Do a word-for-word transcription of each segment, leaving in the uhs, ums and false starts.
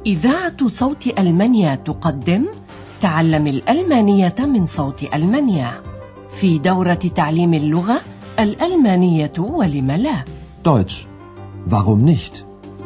إذاعة صوت ألمانيا تقدم تعلم الألمانية من صوت ألمانيا في دورة تعليم اللغة الألمانية ولم لا. Deutsch. Warum nicht?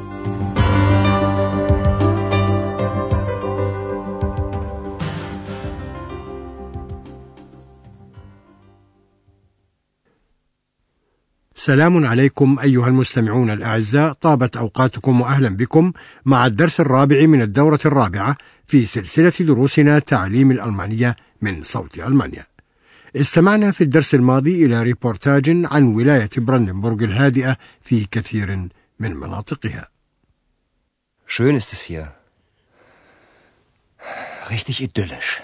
سلام عليكم أيها المستمعون الأعزاء، طابت أوقاتكم وأهلا بكم مع الدرس الرابع من الدورة الرابعة في سلسلة دروسنا تعليم الألمانية من صوت ألمانيا. استمعنا في الدرس الماضي إلى ريبورتاج عن ولاية براندنبورغ الهادئة في كثير من مناطقها. Schön ist es hier. Richtig idyllisch.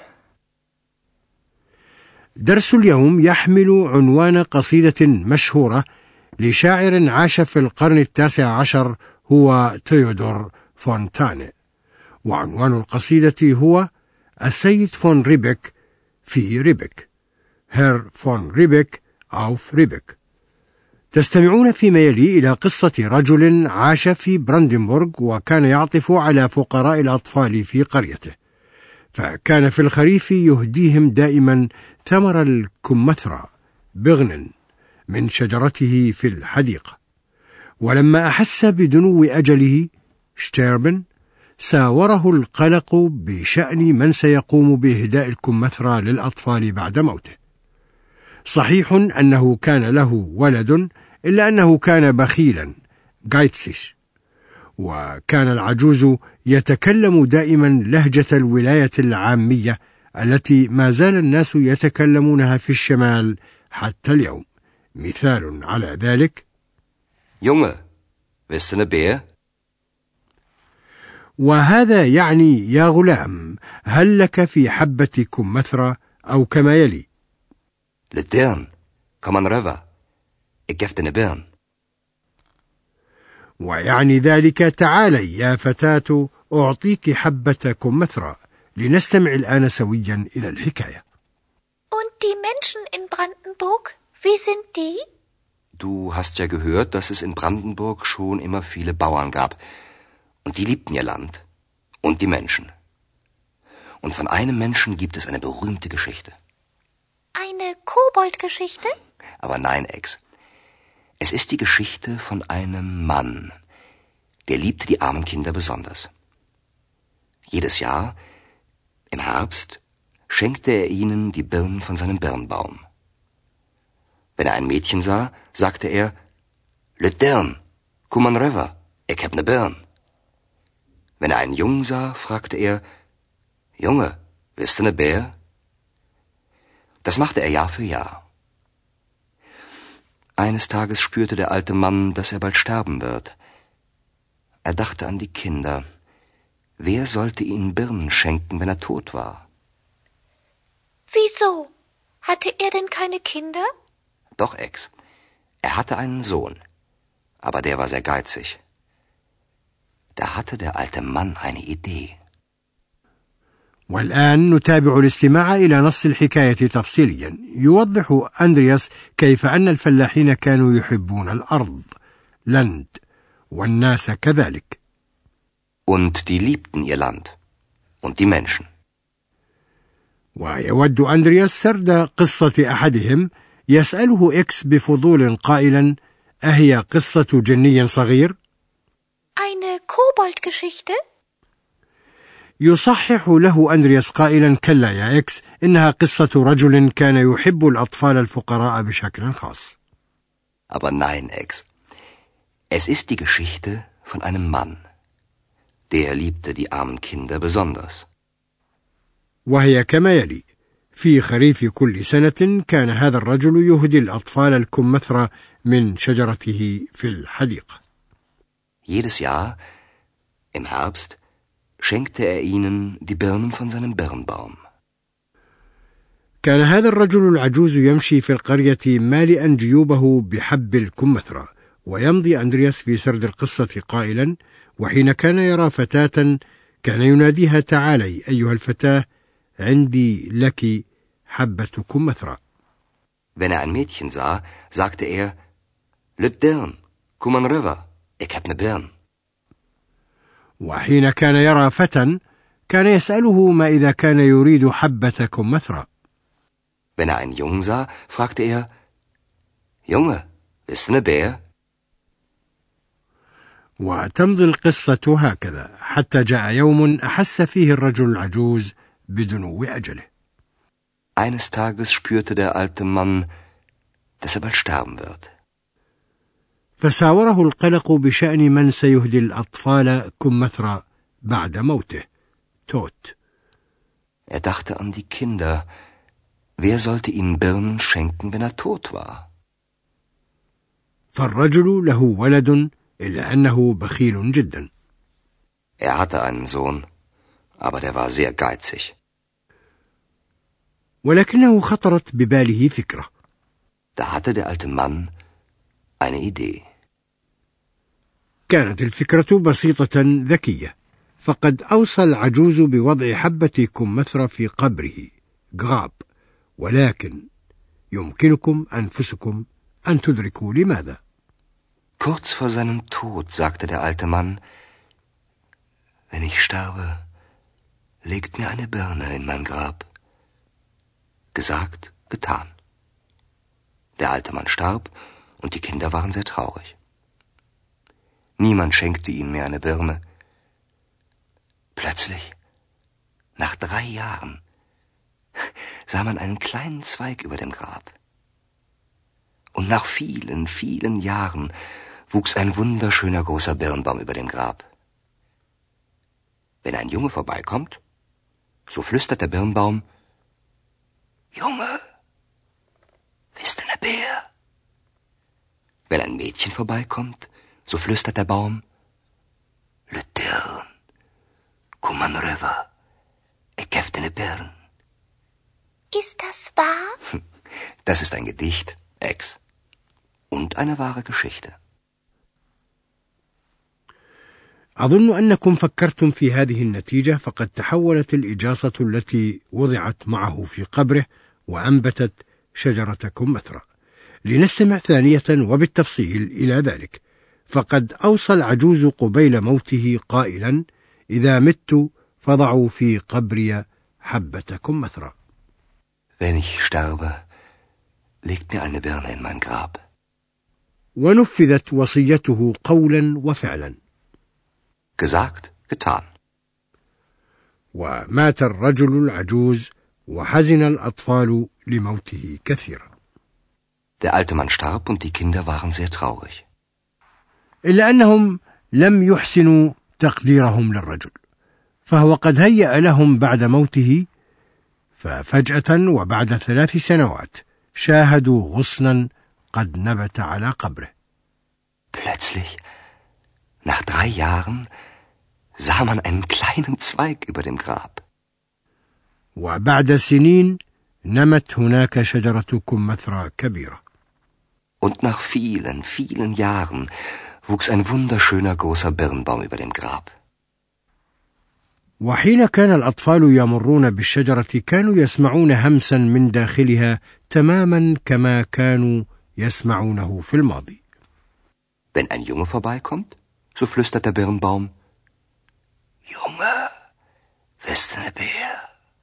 درس اليوم يحمل عنوان قصيدة مشهورة لشاعر عاش في القرن التاسع عشر هو تيودور فونتاني، وعنوان القصيدة هو السيد فون ريبك في ريبك، هير فون ريبك أوف ريبك. تستمعون فيما يلي إلى قصة رجل عاش في براندنبورغ وكان يعطف على فقراء الأطفال في قريته، فكان في الخريف يهديهم دائما ثمر الكمثرى بغن من شجرته في الحديقة، ولما أحس بدنو أجله شتيربن ساوره القلق بشأن من سيقوم بإهداء الكمثرى للأطفال بعد موته. صحيح أنه كان له ولد، إلا أنه كان بخيلا جايتسيش، وكان العجوز يتكلم دائما لهجة الولاية العامية التي ما زال الناس يتكلمونها في الشمال حتى اليوم. مثال على ذلك: Junge, willst du eine Bär? وهذا يعني يا غلام هل لك في حبة كمثرى، أو كما يلي: Lidern, komm an röver. Ik gef dir ne Birn. ويعني ذلك تعالي يا فتاة أعطيك حبة كمثرى. لنستمع الآن سويا إلى الحكاية. Und die Menschen in Brandenburg, wie sind die? Du hast ja gehört, dass es in Brandenburg schon immer viele Bauern gab. Und die liebten ihr Land. Und die Menschen. Und von einem Menschen gibt es eine berühmte Geschichte. Eine Koboldgeschichte? Aber nein, Ex. Es ist die Geschichte von einem Mann. Der liebte die armen Kinder besonders. Jedes Jahr, im Herbst, schenkte er ihnen die Birnen von seinem Birnbaum. Wenn er ein Mädchen sah, sagte er: Lidern, komm an röver, ik heb ne Birn. Wenn er einen Jungen sah, fragte er: Junge, willst du ne Bär? Das machte er Jahr für Jahr. Eines Tages spürte der alte Mann, dass er bald sterben wird. Er dachte an die Kinder. Wer sollte ihnen Birnen schenken, wenn er tot war? Wieso? Hatte er denn keine Kinder? Doch, Ex. Er hatte einen Sohn. Aber der war sehr geizig. Da hatte der alte Mann eine Idee. والآن نتابع الاستماع إلى نص الحكاية تفصيليا. يوضح أندرياس كيف أن الفلاحين كانوا يحبون الأرض Land والناس كذلك. Und die liebten ihr Land. Und die Menschen. ويود أندرياس سرد قصة أحدهم. يسأله إكس بفضول قائلا: أهي قصة جني صغير؟ Eine Koboldgeschichte? يصحح له أندرياس قائلا: كلا يا إكس، إنها قصة رجل كان يحب الأطفال الفقراء بشكل خاص. Aber nein, Ex. Es ist die Geschichte von einem Mann. Der liebte die armen Kinder besonders. وهي كما يلي: في خريف كل سنة كان هذا الرجل يهدي الأطفال الكمثرى من شجرته في الحديقة. Jedes Jahr, im Herbst, schenkte er ihnen die Birnen von seinem Birnbaum. كان هذا الرجل العجوز يمشي في القرية مالئا جيوبه بحب الكمثرى. ويمضي أندرياس في سرد القصة قائلا: وحين كان يرى فتاة كان يناديها: تعالي أيها الفتاة، عندي لك حبة كمثرى. Wenn er ein Mädchen sah, sagte er: Lidern, komm an röver, ik heb ne Birn. وحين كان يرى فتى كان يسأله ما إذا كان يريد حبة كمثرى. Wenn er einen Jungen sah, fragte er: Junge, bist du eine Bär? وتمضي القصة هكذا حتى جاء يوم أحس فيه الرجل العجوز بدنو أجله. Eines Tages spürte der alte Mann, dass er bald sterben wird. فساوره القلق بشأن من سيهدي الأطفال كمثرى بعد موته، توت. Er dachte an die Kinder. Wer sollte ihnen Birnen schenken, wenn er tot war? فالرجل له ولد إلا أنه بخيل جدا. Er hatte einen Sohn, aber der war sehr geizig. ولكنه خطرت بباله فكرة. Da hatte der alte Mann eine Idee. كانت الفكرة بسيطة ذكية، فقد أوصى العجوز بوضع حبة كمثرى في قبره غاب، ولكن يمكنكم أنفسكم أن تدركوا لماذا. Kurz vor seinem Tod sagte der alte Mann: Wenn ich sterbe, legt mir eine Birne in mein Grab. Gesagt, getan. Der alte Mann starb und die Kinder waren sehr traurig. Niemand schenkte ihnen mehr eine Birne. Plötzlich, nach drei Jahren, sah man einen kleinen Zweig über dem Grab. Und nach vielen, vielen Jahren wuchs ein wunderschöner großer Birnbaum über dem Grab. Wenn ein Junge vorbeikommt, so flüstert der Birnbaum: Junge, bist du eine Bär? Wenn ein Mädchen vorbeikommt, so flüstert der Baum: Lutern, kuman röver, ich hef deine Birn. Ist das wahr? Das ist ein Gedicht, Ex. Und eine wahre Geschichte. أظن أنكم فكرتم في هذه النتيجة، فقد تحولت الإجاصة التي وضعت معه في قبره وأنبتت شجرة كمثرى. لنستمع ثانية وبالتفصيل إلى ذلك. فقد أوصى العجوز قبيل موته قائلا: إذا مت فضعوا في قبري حبة كمثرى. Wenn ich sterbe, legt mir eine Birne in mein Grab. ونفذت وصيته قولا وفعلا. Gesagt, getan. ومات الرجل العجوز وحزن الأطفال لموته كثيرا. Der alte Mann starb und die Kinder waren sehr traurig. إلا أنهم لم يحسنوا تقديرهم للرجل، فهو قد هيأ لهم بعد موته، ففجأة وبعد ثلاث سنوات شاهدوا غصنا قد نبت على قبره. Plötzlich, nach drei Jahren, sah man einen kleinen Zweig über dem Grab. وبعد سنين نمت هناك شجرة كمثرى كبيرة. Und nach vielen, vielen Jahren wuchs ein wunderschöner großer Birnbaum über dem Grab. وحين كان الأطفال يمرون بالشجرة كانوا يسمعون همسا من داخلها تماما كما كانوا يسمعونه في الماضي. Wenn ein Junge vorbeikommt, so flüstert der Birnbaum: Junge, bist du eine Bär?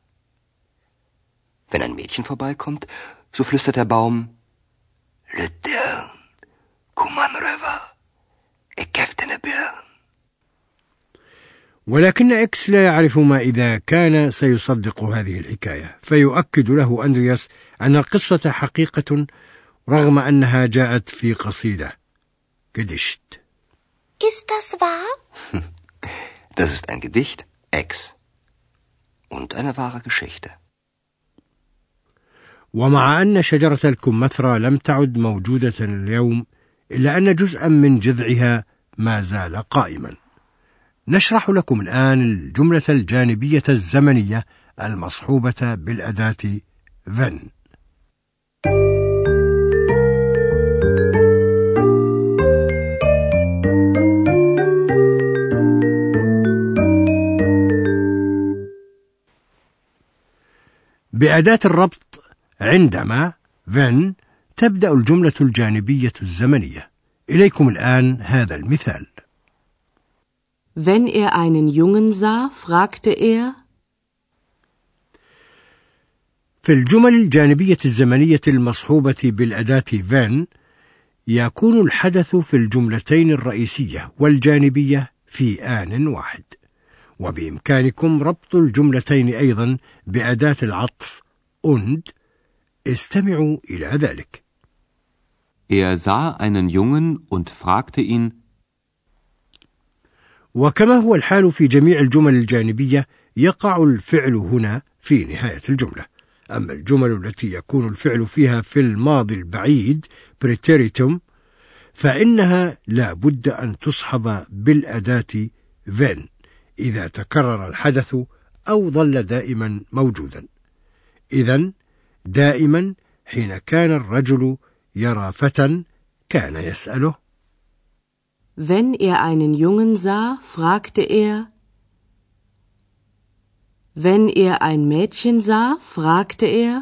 Wenn ein Mädchen vorbeikommt, so flüstert der Baum: Lutern, kuman röver, ich hef deine Birn. ولكن إكس لا يعرف ما إذا كان سيصدق هذه الحكاية، فيؤكد له أندرياس أن القصة حقيقة رغم أنها جاءت في قصيدة Gedicht. Ist das wahr? Das ist ein Gedicht, Ex. Und eine wahre Geschichte. ومع أن شجرة الكمثرى لم تعد موجودة اليوم، إلا أن جزءا من جذعها ما زال قائما. نشرح لكم الآن الجملة الجانبية الزمنية المصحوبة بالأداة wenn. بأداة الربط عندما when تبدأ الجملة الجانبية الزمنية. إليكم الآن هذا المثال: Wenn er einen Jungen sah, fragte er. في الجمل الجانبية الزمنية المصحوبة بالأداة فان يكون الحدث في الجملتين الرئيسية والجانبية في آن واحد، وبإمكانكم ربط الجملتين أيضا بأداة العطف und. استمعوا إلى ذلك. Er sah einen Jungen und fragte ihn. وكما هو الحال في جميع الجمل الجانبية يقع الفعل هنا في نهاية الجملة. أما الجمل التي يكون الفعل فيها في الماضي البعيد preteritum فإنها لا بد أن تصحب بالأداة when إذا تكرر الحدث أو ظل دائما موجودا. إذن دائما حين كان الرجل يرى فتى كان يسأله. Wenn er einen Jungen sah, fragte er. Wenn er ein Mädchen sah, fragte er.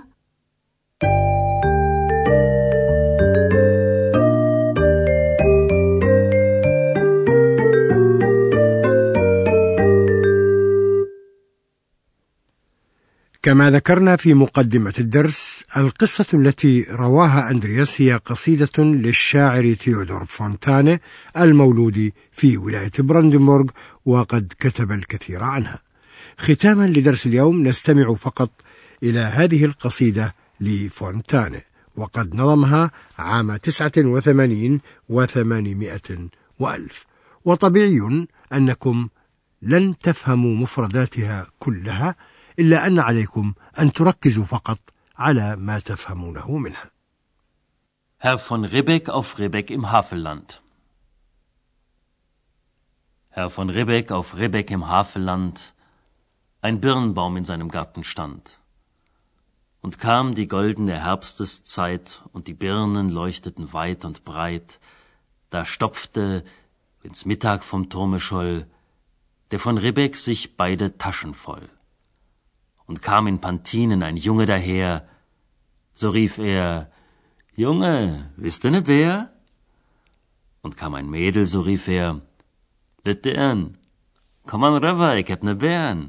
كما ذكرنا في مقدمة الدرس، القصة التي رواها أندرياس هي قصيدة للشاعر تيودور فونتاني المولود في ولاية براندنبورغ، وقد كتب الكثير عنها. ختاما لدرس اليوم نستمع فقط إلى هذه القصيدة لفونتاني، وقد نظمها عام تسعة وثمانين وثمانمائة وألف، وطبيعي أنكم لن تفهموا مفرداتها كلها، إلا أن عليكم أن تركزوا فقط على ما تفهمونه منها. Herr von Ribbeck auf Ribbeck im Havelland. Herr von Ribbeck auf Ribbeck im Havelland, ein Birnbaum in seinem Garten stand. Und kam die goldene Herbsteszeit, und die Birnen leuchteten weit und breit, da stopfte, wenn's Mittag vom Turme scholl, der von Ribbeck sich beide Taschen voll. Und kam in Pantinen ein Junge daher, so rief er, Junge, bist du ne Bär? Und kam ein Mädel, so rief er, Litern, komm an rüber, ich hab ne Bären.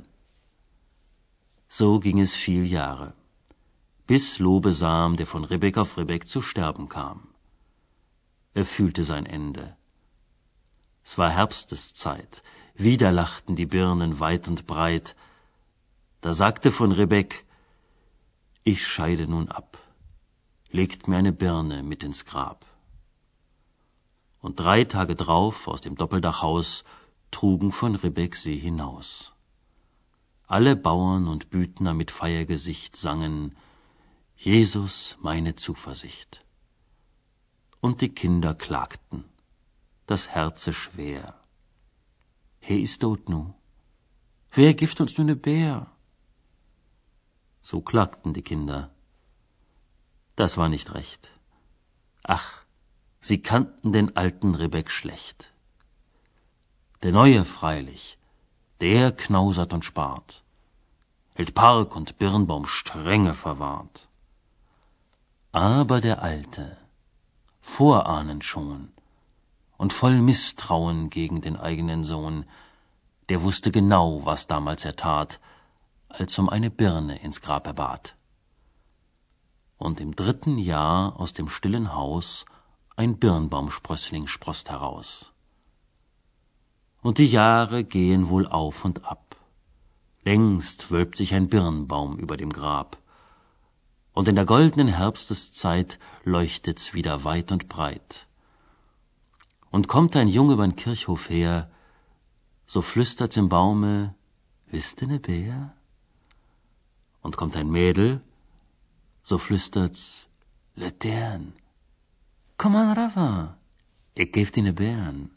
So ging es viel Jahre, bis Lobesam, der von Ribbeck auf Ribbeck zu sterben kam. Er fühlte sein Ende. Es war Herbsteszeit, wieder lachten die Birnen weit und breit. Da sagte von Ribbeck, ich scheide nun ab, legt mir eine Birne mit ins Grab. Und drei Tage drauf aus dem Doppeldachhaus trugen von Ribbeck sie hinaus. Alle Bauern und Büdner mit Feiergesicht sangen, Jesus meine Zuversicht. Und die Kinder klagten, das Herze schwer. He is tot nu, wer gibt uns nu ne Bär? So klagten die Kinder. Das war nicht recht. Ach, sie kannten den alten Ribbeck schlecht. Der Neue freilich, der knausert und spart, hält Park und Birnbaum strenge verwahrt. Aber der Alte, vorahnend schon und voll Misstrauen gegen den eigenen Sohn, der wusste genau, was damals er tat, als um eine Birne ins Grab er bat. Und im dritten Jahr aus dem stillen Haus ein Birnbaumsprössling sproßt heraus. Und die Jahre gehen wohl auf und ab. Längst wölbt sich ein Birnbaum über dem Grab. Und in der goldenen Herbsteszeit leuchtet's wieder weit und breit. Und kommt ein Junge übern Kirchhof her, so flüstert's im Baume, wisst ihr ne Bär? Und kommt ein Mädel, so flüstert's, Letern, komm an Rava, ich geb dir ne Bären.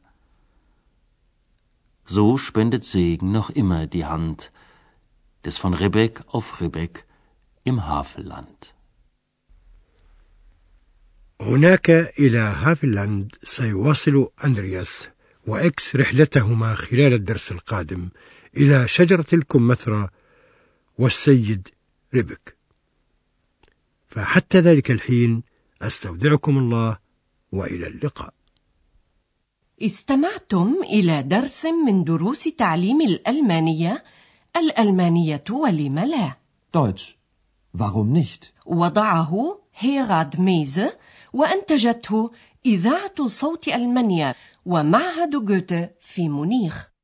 So spendet Segen noch immer die Hand des von Ribbeck auf Ribbeck im Havelland. هناك إلى هافلاند سيواصل أندرياس وإكس رحلتهما خلال الدرس القادم إلى شجرة الكمثرى والسيد ريبك. فحتى ذلك الحين أستودعكم الله وإلى اللقاء. استمعتم إلى درس من دروس تعليم الألمانية. الألمانية ولم لا؟ Deutsch. Warum nicht? وضعه هيراد ميزه وأنتجته إذاعة صوت ألمانيا ومعهد جوته في مونيخ.